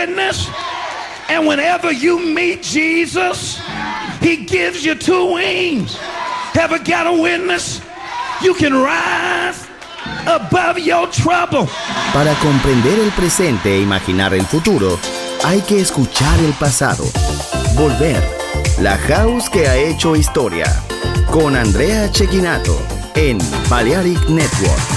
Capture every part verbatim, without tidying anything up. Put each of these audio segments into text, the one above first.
witness. And whenever you meet Jesus, he gives you two wings. Ever got a witness? You can rise above your trouble. Para comprender el presente e imaginar el futuro, hay que escuchar el pasado. Volver. La House que ha hecho historia. Con Andrea Cecchinato en Balearic Network.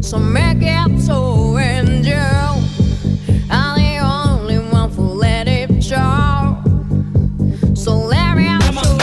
So make it so, and you are the only one who let it show. So let me out.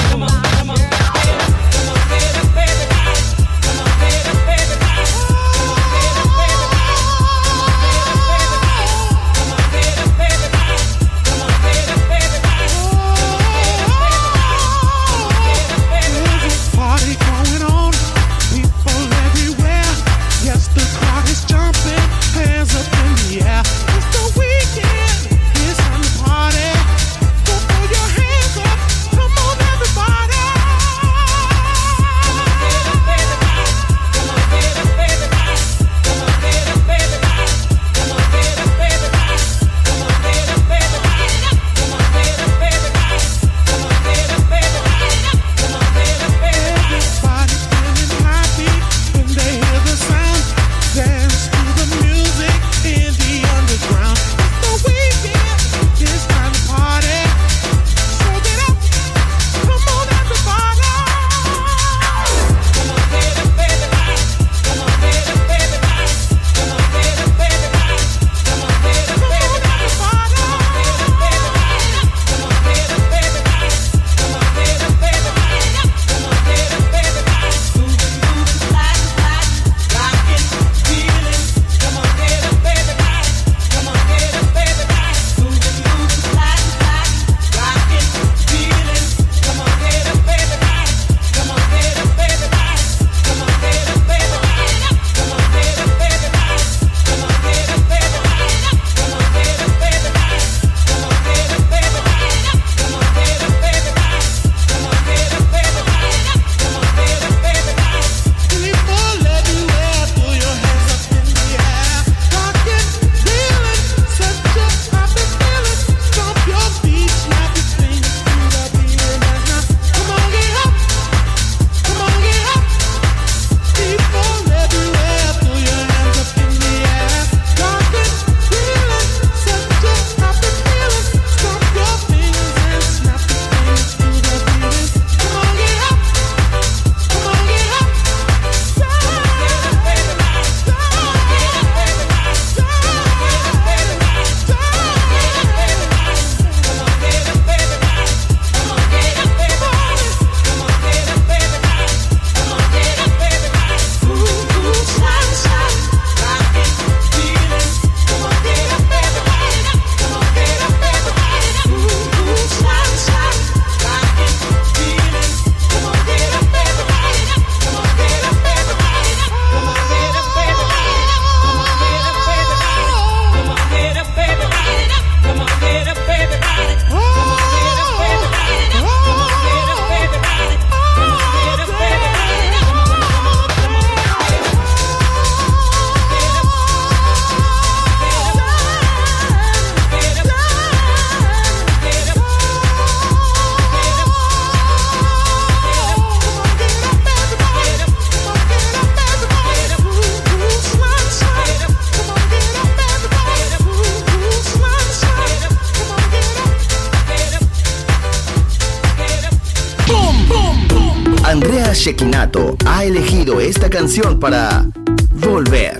Andrea Cecchinato ha elegido esta canción para Volver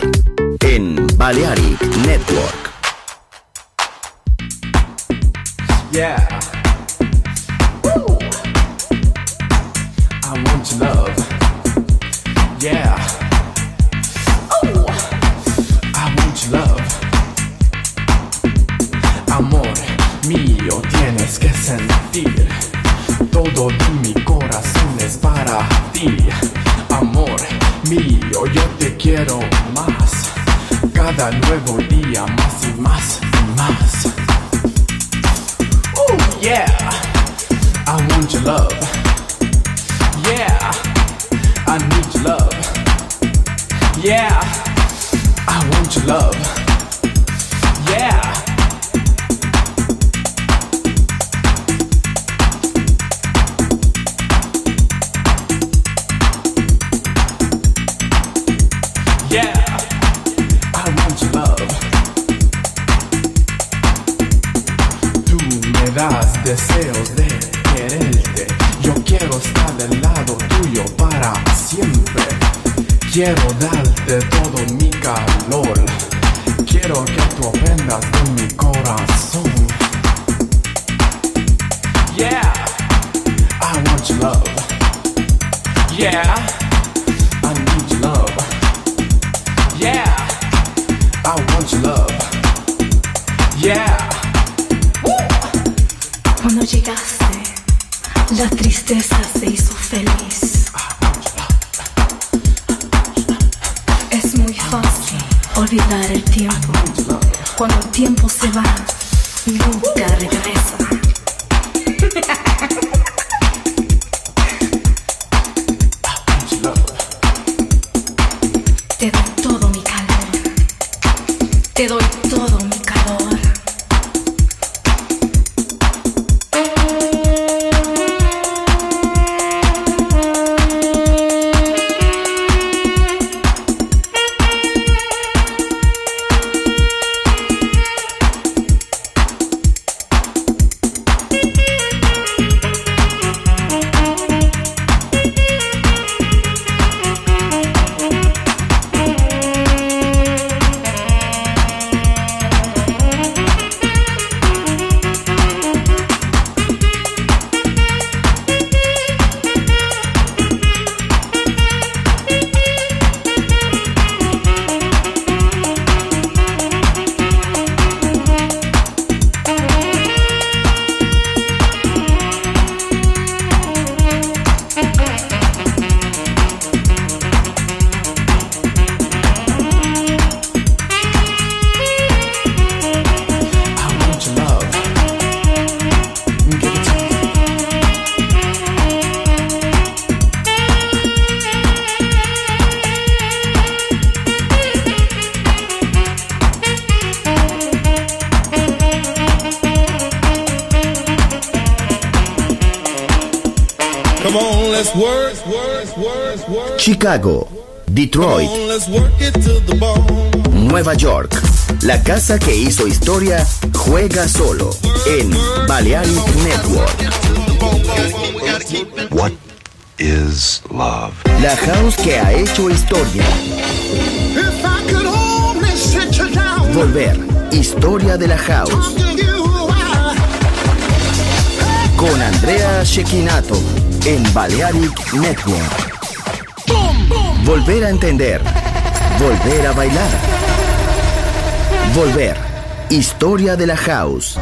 en Balearic Network. Yeah. Woo. I want your love. Yeah. Oh. I want your love. Amor mío, tienes que sentir. Todo de mi corazón es para ti. Amor mío, yo te quiero más. Cada nuevo día más y más y más. Oh yeah, I want your love. Yeah, I need your love. Yeah, I want your love. Yeah. Yeah, I want your love. Tú me das deseos de quererte. Yo quiero estar del lado tuyo para siempre. Quiero darte todo mi calor. Quiero que tú aprendas de mi corazón. Yeah, I want your love. Yeah, I need your love. Yeah, I want your love. Yeah. Cuando llegaste, la tristeza se hizo feliz. Es muy fácil olvidar el tiempo. Cuando el tiempo se va, nunca regresa. Te doy todo mi calor. Te doy todo mi calor. Chicago, Detroit, Nueva York. La casa que hizo historia juega solo en Balearic Network. What is love? La house que ha hecho historia. Volver, historia de la house. Con Andrea Cecchinato en Balearic Network. Volver a entender. Volver a bailar. Volver. Historia de la house.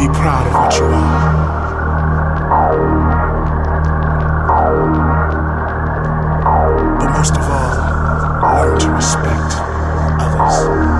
Be proud of what you are. But most of all, learn to respect others.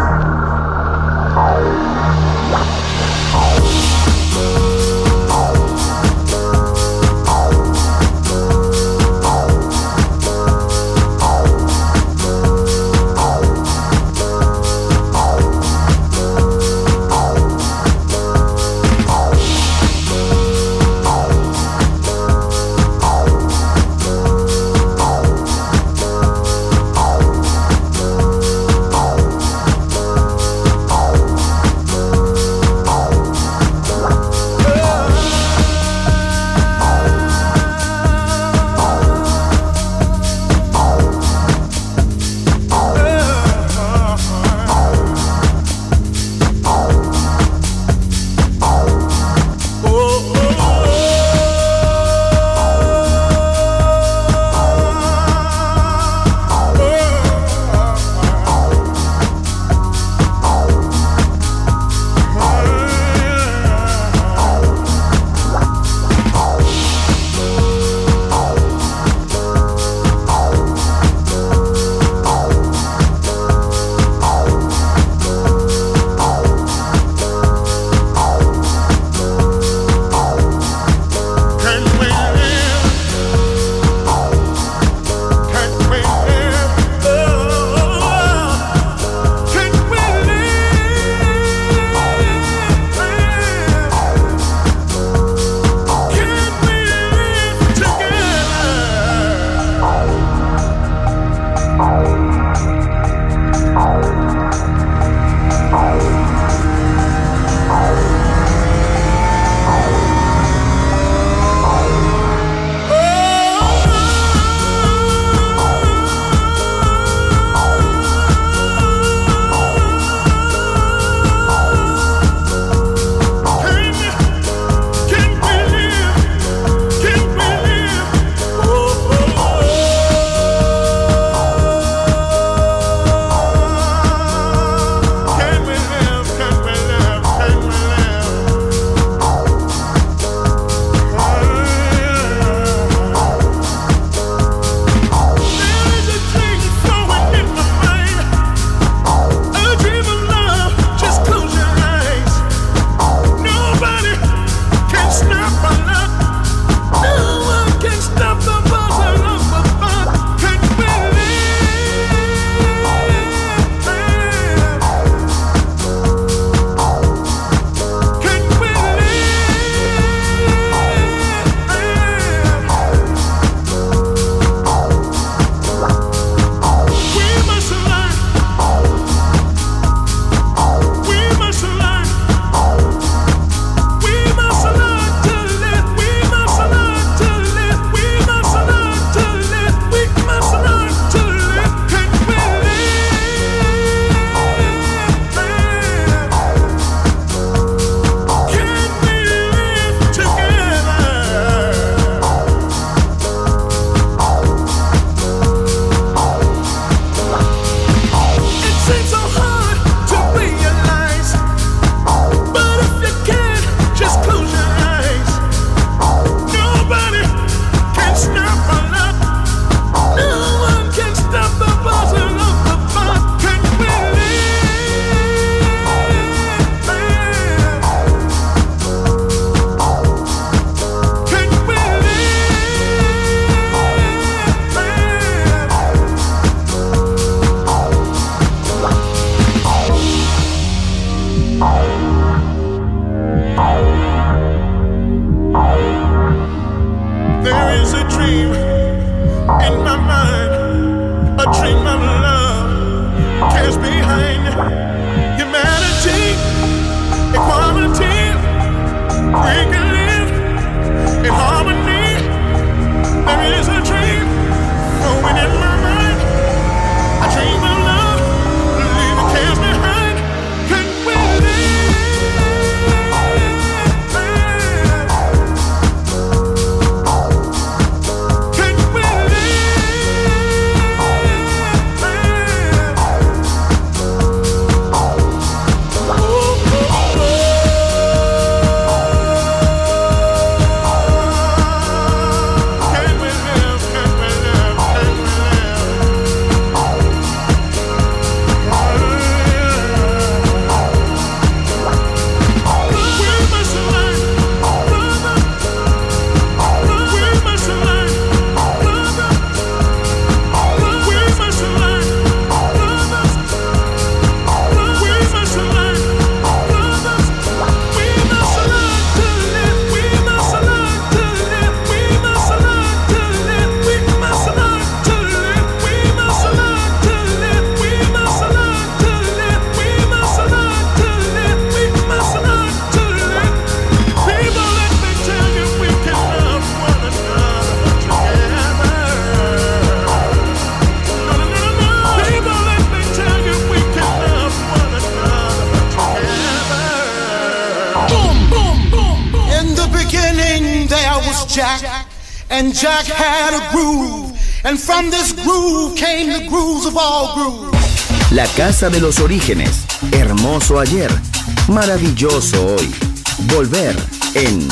was Jack, and Jack had a groove, and from this groove came the grooves of all grooves. La casa de los orígenes, hermoso ayer, maravilloso hoy. Volver en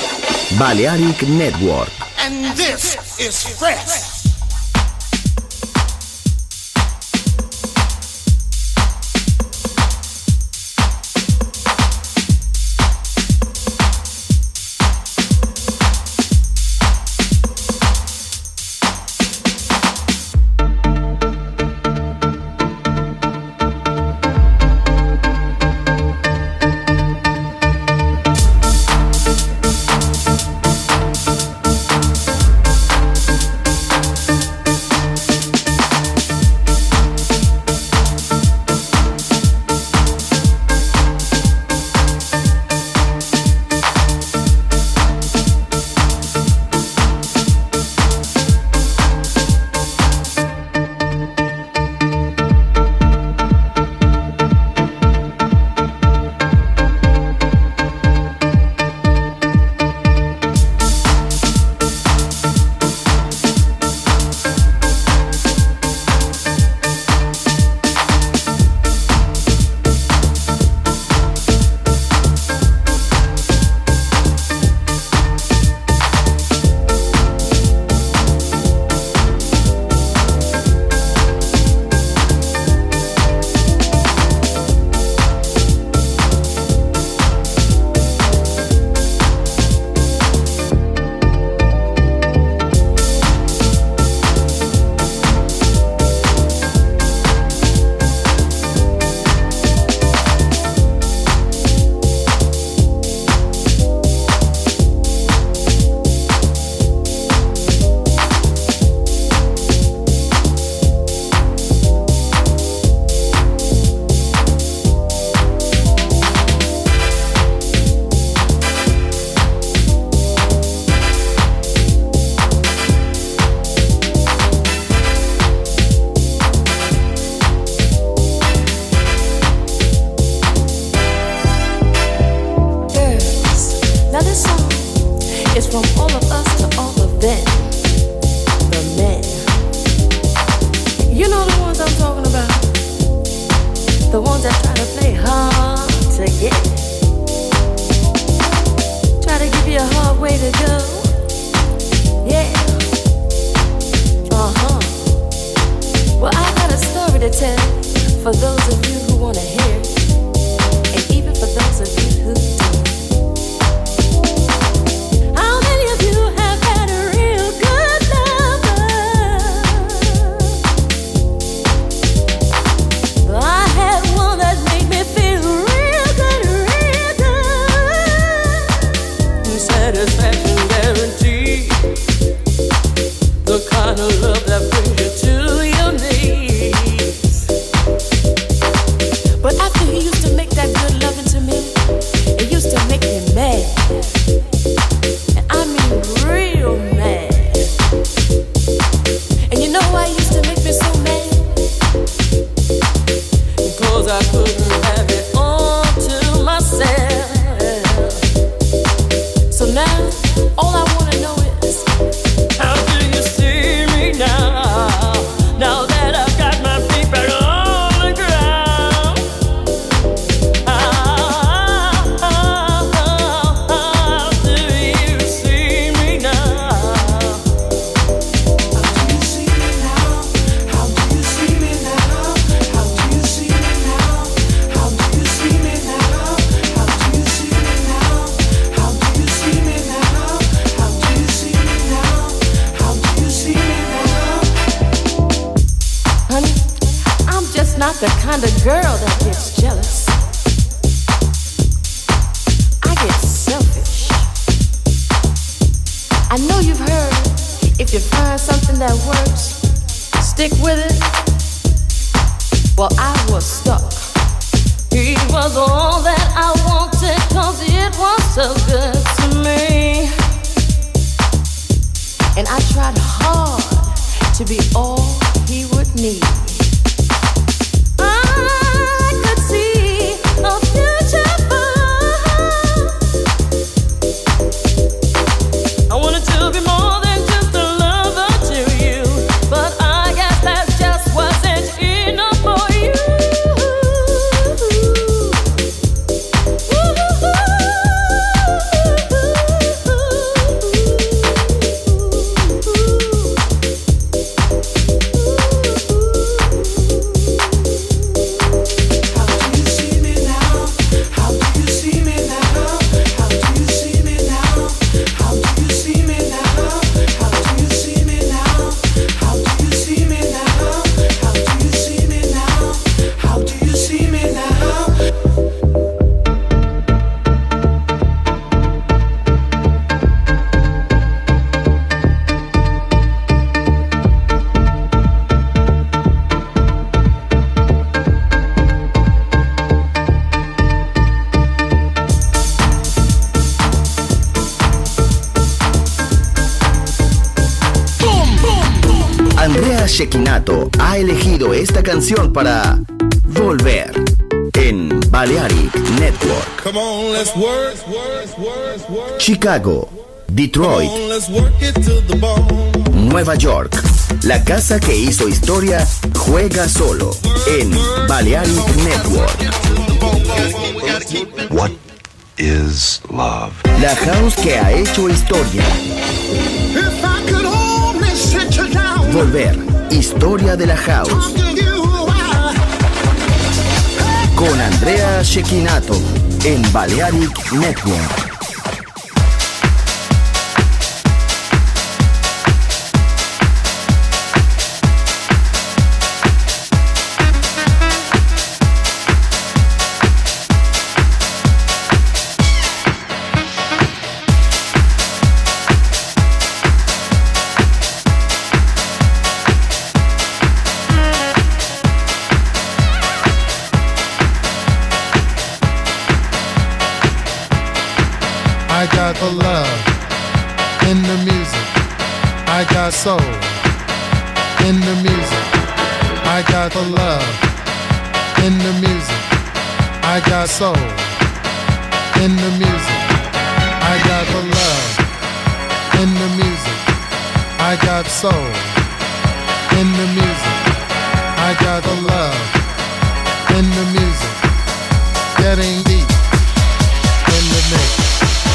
Balearic Network. And this is fresh. I wanna Shekinato ha elegido esta canción para volver en Balearic Network. Come on, let's work, work, work, work. Chicago, Detroit, Come on, let's work it to the bone. Nueva York. La casa que hizo historia juega solo en Balearic Network. What is love? La house que ha hecho historia. If I could only sit you down, Volver, historia de la house. talk to you while Con Andrea Shekinato en Balearic Network. I got the love in the music. I got soul in the music. I got the love in the music. I got soul in the music. I got the love in the music. I got soul in the music. I got the love in the music. Getting deep in the mix.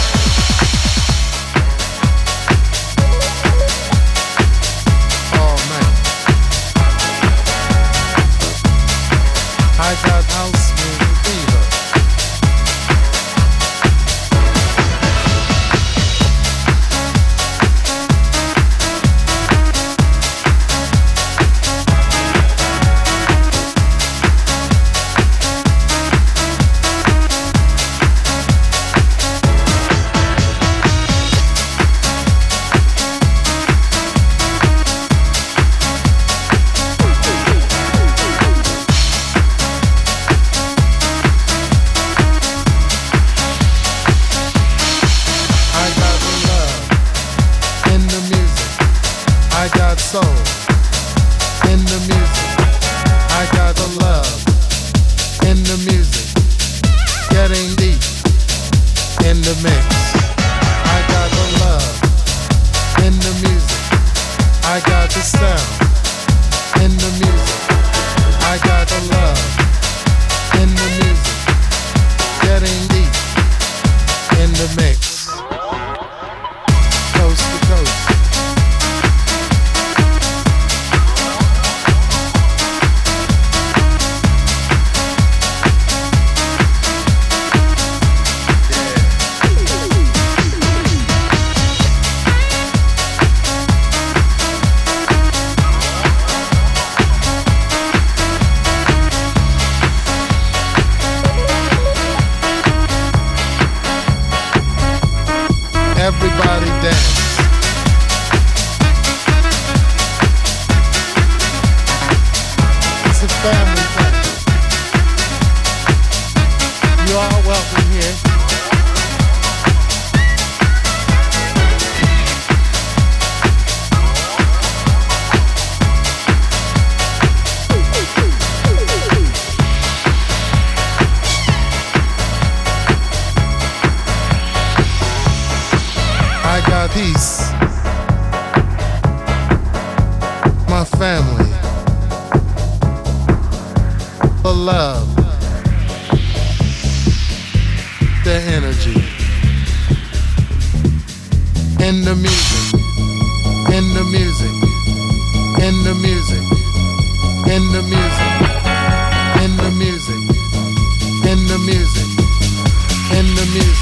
I got house music fever. Soul in the music. I got the love in the music. Getting deep in the mix. I got the love in the music. I got the sound in the music. I got the love in the music. Getting deep in the mix. Coast to coast. Everybody dance. It's a family thing. You are welcome here. I got peace, my family, the love, the energy, in the music, in the music, in the music, in the music, in the music, in the music, in the music.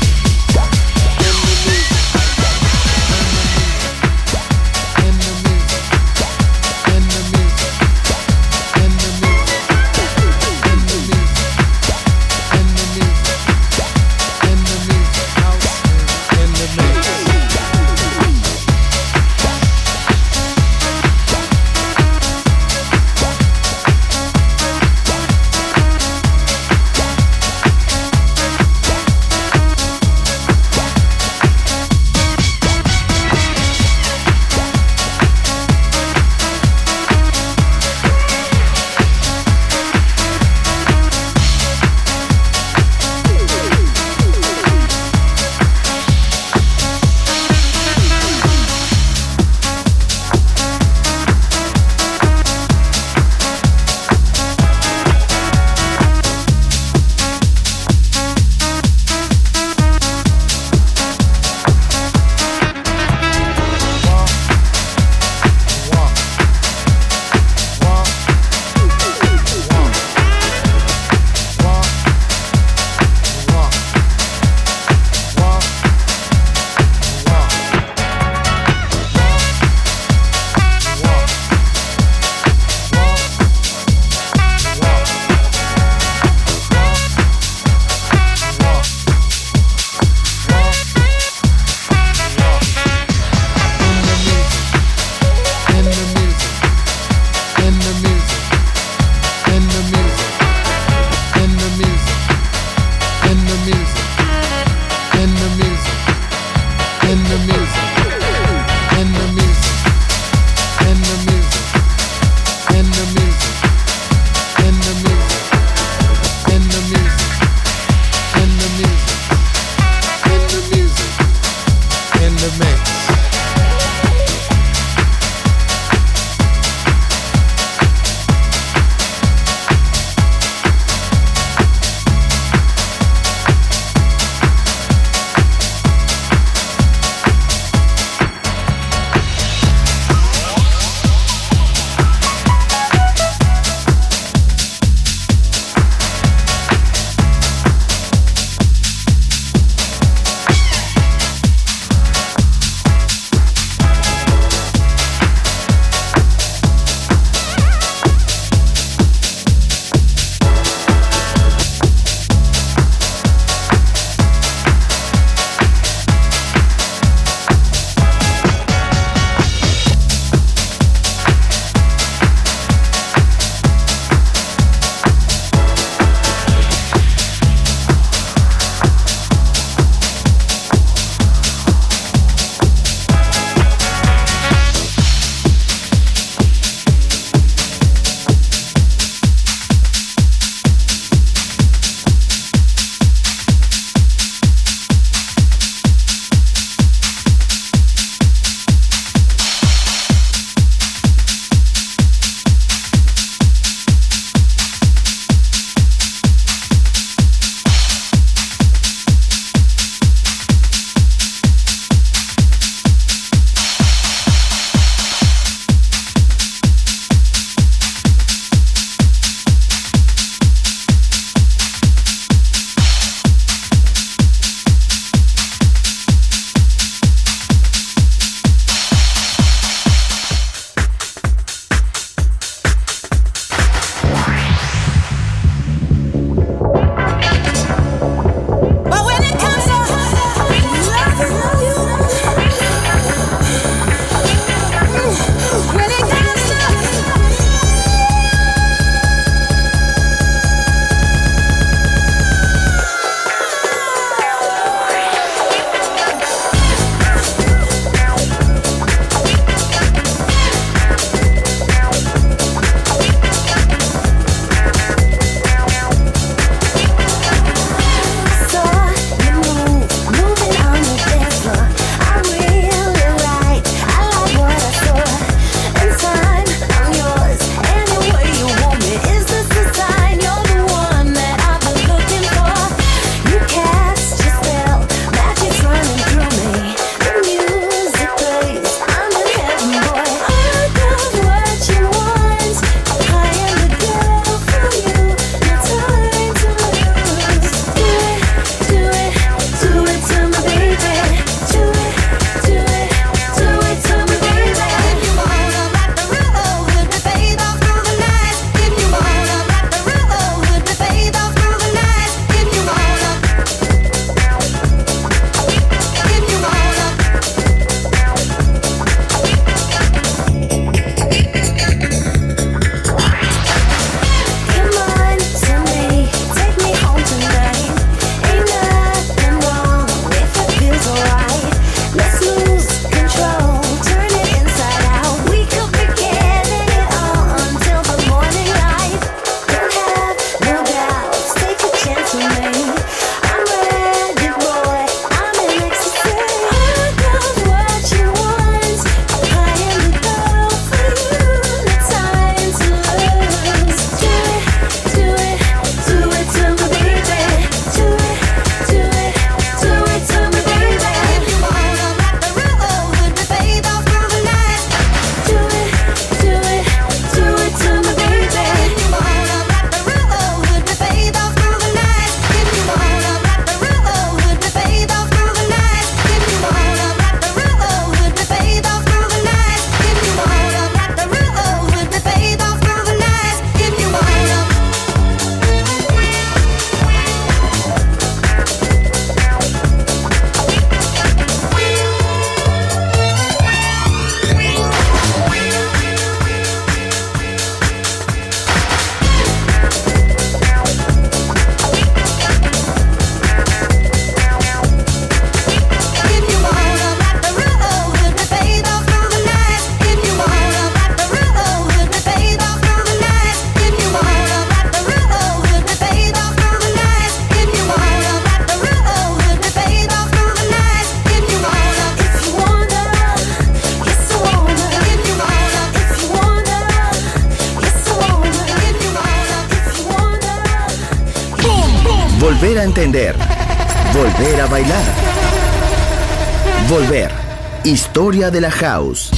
entender, volver a bailar. Volver. Historia de la house.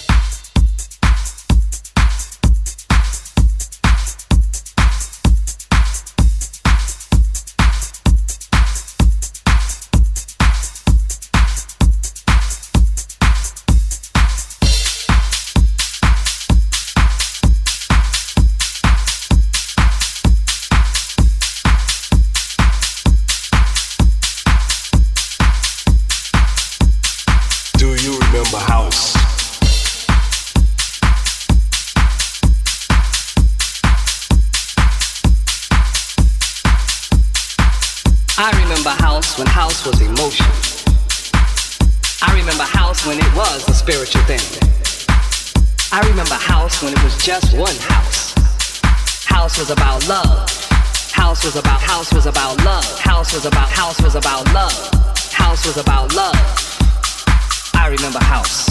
I remember house when house was emotion. I remember house when it was a spiritual thing. I remember house when it was just one house. House was about love. House was about, house was about love. House was about, house was about love. House was about love. I remember house.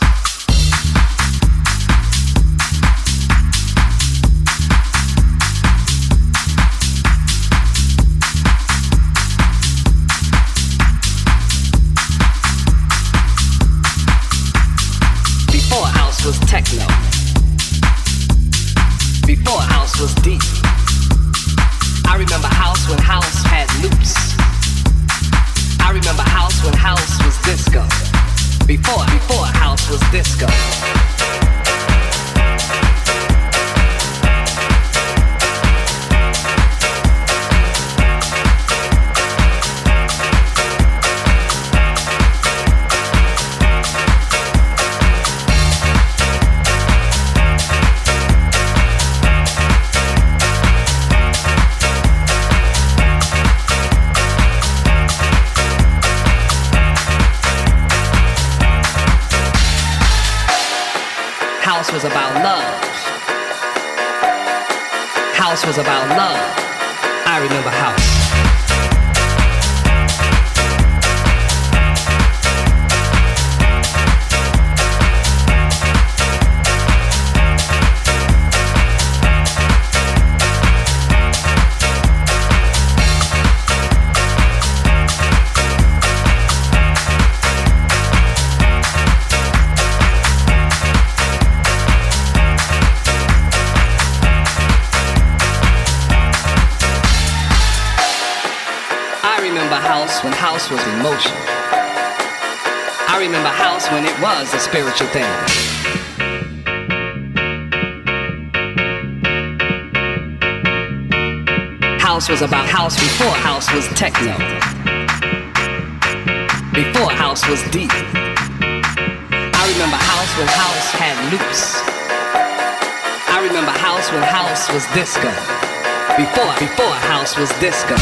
Before house was techno. Before house was deep. I remember house when house had loops. I remember house when house was disco. Before, before house was disco. House was about love. House was about love. I remember house. House when house was emotion. I remember house when it was a spiritual thing. House was about house before house was techno. Before house was deep. I remember house when house had loops. I remember house when house was disco. Before, before house was disco.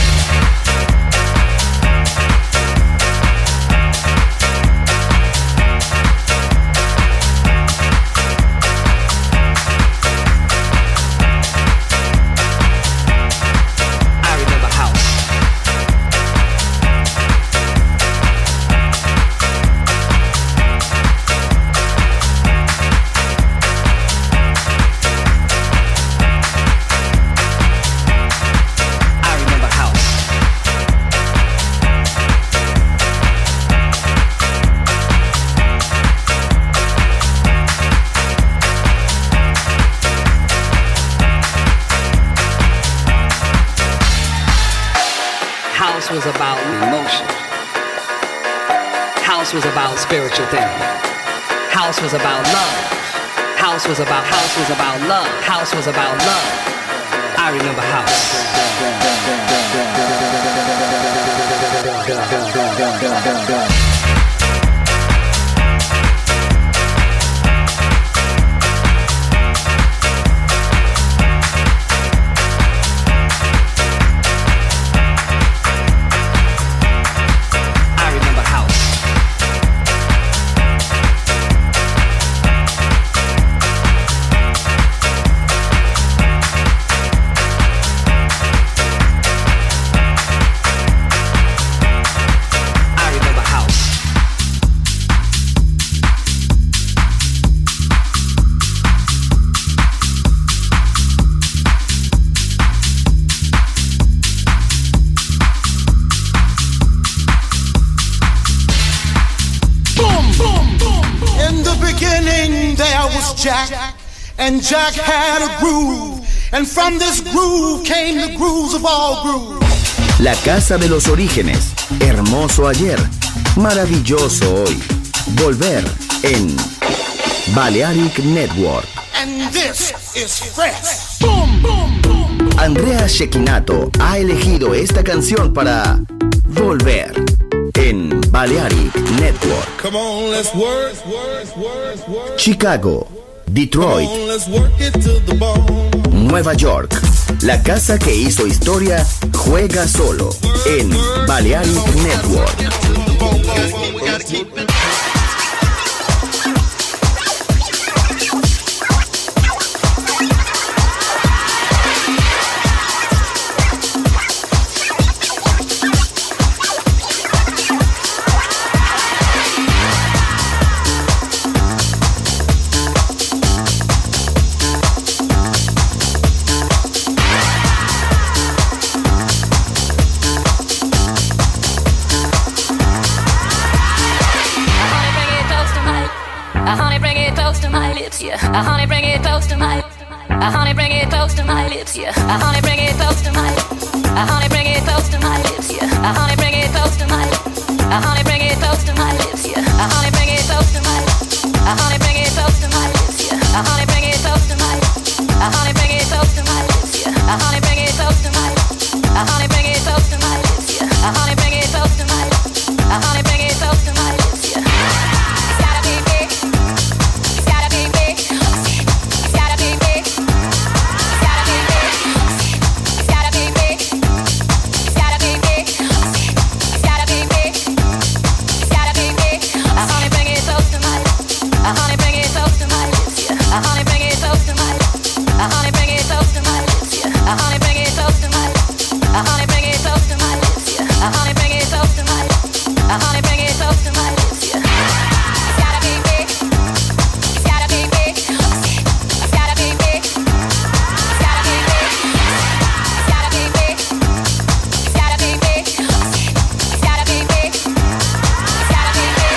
House was about emotion. House was about spiritual thing. House was about love. House was about, house was about love. House was about love. I remember house. I remember house. beginning there was Jack, and Jack had a groove, and from this groove came the grooves of all grooves. La casa de los orígenes, hermoso ayer, maravilloso hoy. Volver en Balearic Network. And this is fresh. Boom, boom, boom. Andrea Cecchinato ha elegido esta canción para Volver en Balearic Network. Come on, let's work, work, work, work. Chicago, Detroit, Come on, let's work it to the bone. Nueva York. La casa que hizo historia juega solo en Balearic Network. Yeah, uh, honey, bring it close to my. Uh, honey, bring it close to my lips. Yeah, uh, honey, bring it close to my. Uh, honey, bring it close to my lips. Yeah, uh, honey, bring it close to my. Uh, honey, bring it close to my lips. Yeah, uh, honey, bring it close to my. Uh, honey, bring it close to my lips. Yeah, uh, honey, bring it close to my. Uh, honey, bring it close to my lips. Yeah, uh, honey, bring it close to my. Uh, honey, bring it close to my lips. Yeah, uh, honey, bring it close to my. Uh, honey, bring it close to my lips. Yeah. It's gotta be big. It's gotta be big. It's gotta be big. It's gotta be big. It's gotta be big. It's gotta be big. It's gotta be big. It's gotta be big. Uh, honey, bring it close to my. Uh, honey, bring it close to my lips. Yeah. Uh, honey, bring it close to my. Uh, honey, bring it close to my lips. Yeah. Uh, honey, bring it close to my. Uh, honey, bring it close to my lips. Yeah. Uh, honey, bring it close to my. Uh, honey, bring it close to my lips. Yeah. It's gotta be big. It's gotta be big. It's gotta be big. It's gotta be big. It's gotta be big. It's gotta be big. It's gotta be big. It's gotta be big.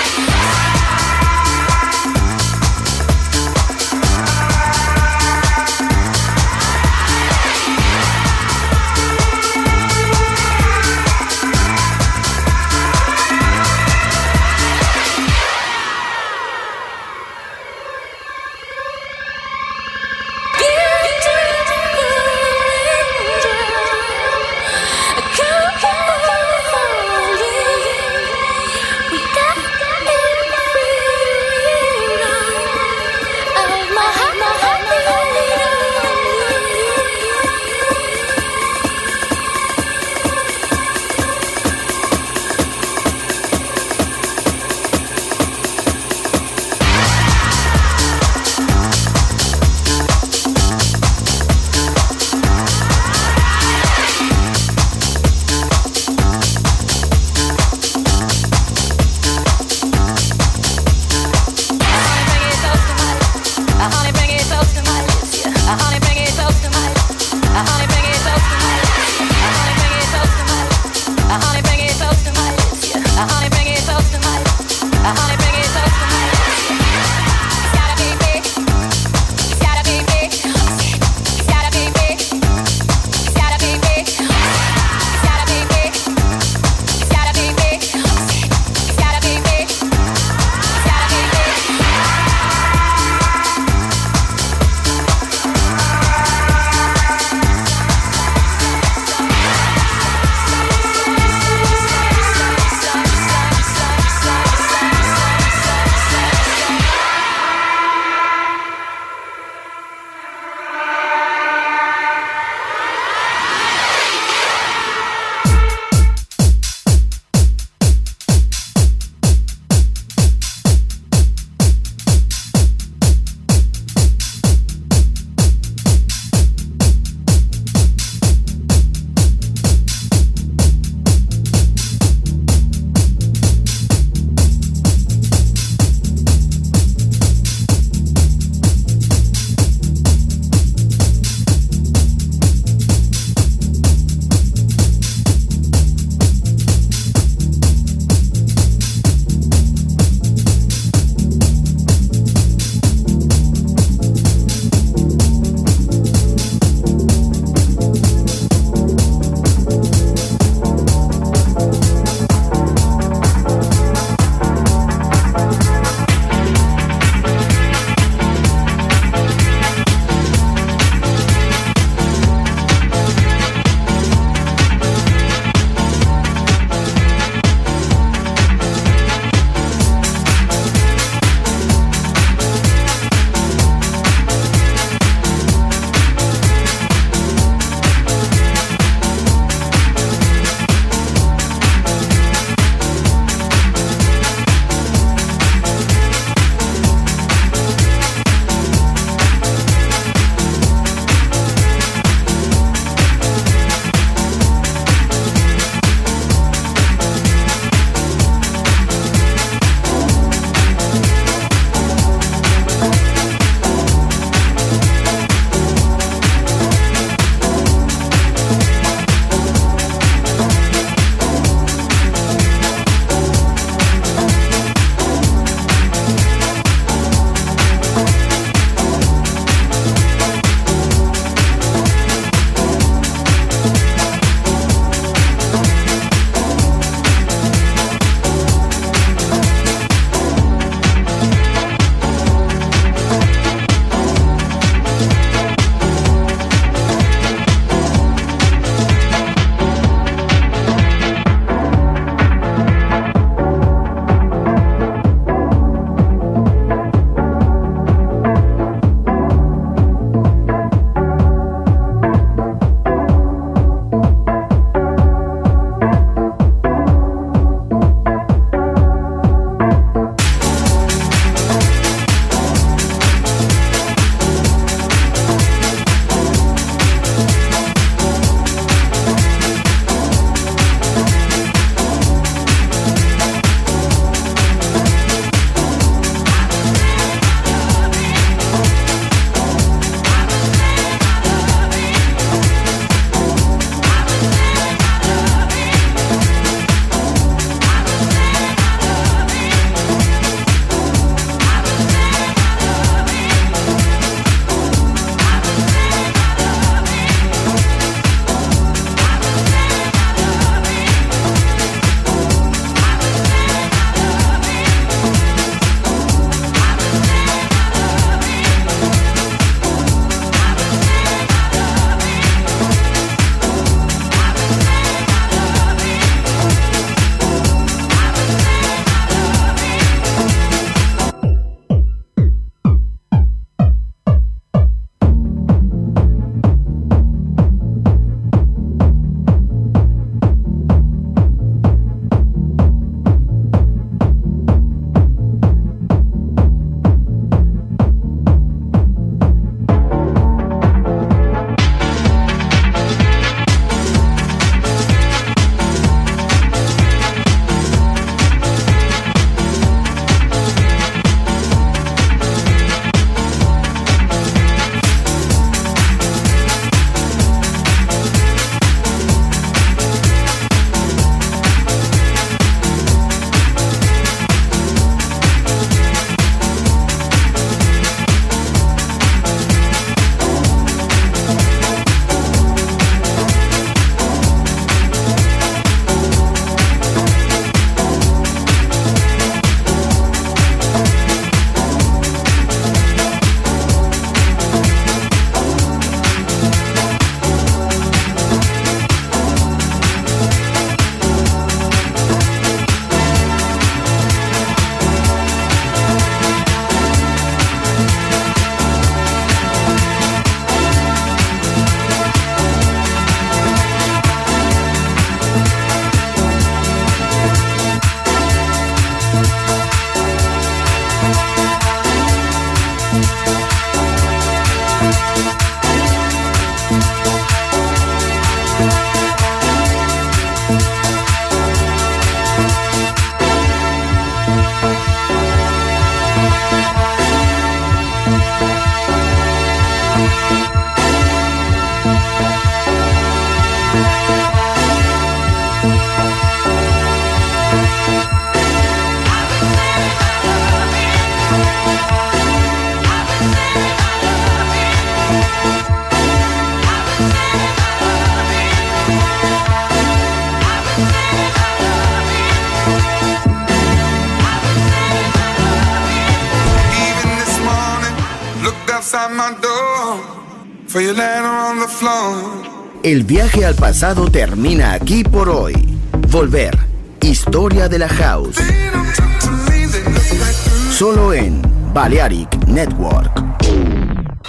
outside my door, for you laying on the floor. El viaje al pasado termina aquí por hoy. Volver. Historia de la House. Solo en Balearic Network.